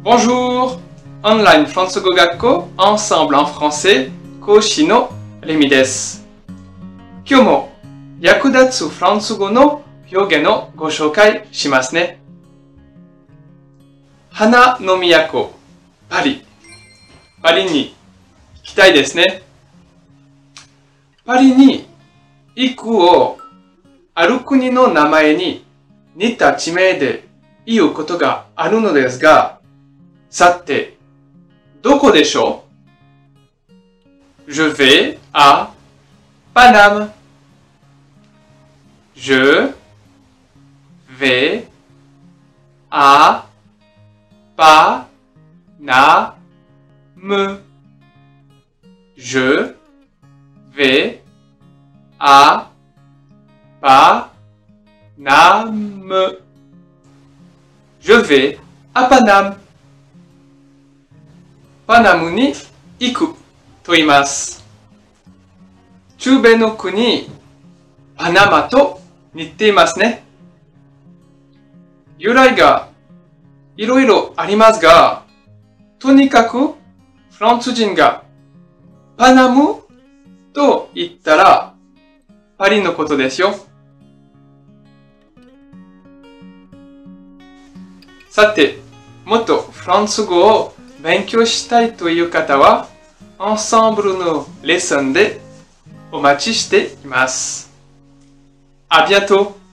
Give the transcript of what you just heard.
Bonjour! Online フランス語学校 Ensemble en français 講師のレミです。今日も役立つフランス語の表現をご紹介しますね。花の都、パリ。パリに行きたいですね。パリに行くをある国の名前に似た地名で言うことがあるのですが、さて、どこでしょう？ Je vais à Paname. Je vais à Paname. Je vais à Paname. Je vais à Paname. パナムに行くと言います。中米の国、パナマと似ていますね。由来がいろいろありますが、とにかくフランス人がパナムと言ったらパリのことですよ。さて、もっとフランス語を勉強したいという方は、Ensembleのレッスンでお待ちしています。À bientôt!